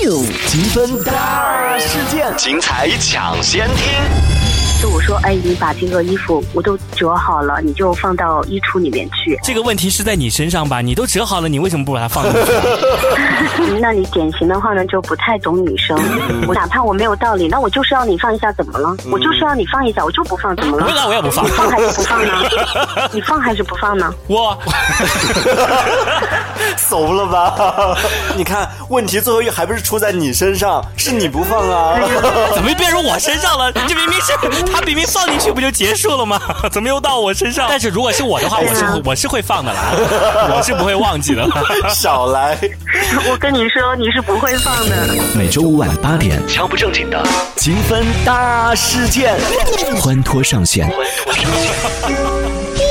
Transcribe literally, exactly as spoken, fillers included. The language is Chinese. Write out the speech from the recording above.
积分大事件，精彩抢先听。 就我说，哎，你把这个衣服我都折好了，你就放到衣橱里面去。 这个问题是在你身上吧？你都折好了，你为什么不把它放进去？ 那你典型的话呢，就不太懂女生。我哪怕我没有道理，那我就是要你放一下，怎么了？我就是要你放一下，我就不放，怎么了？ 不那我也不放。 你放还是不放呢？你放还是不放呢？ 我怂了吧？你看，问题最后还不是出在你身上，是你不放啊？ 怎么变成我身上了？这明明是他明明放进去不就结束了吗？怎么又到我身上？但是如果是我的话，我是我是会放的啦，我是不会忘记的。 少来！ 我跟你说，你是不会放的。 每周五晚八点，敲不正经的积分大事件，欢脱上线。欢脱上线。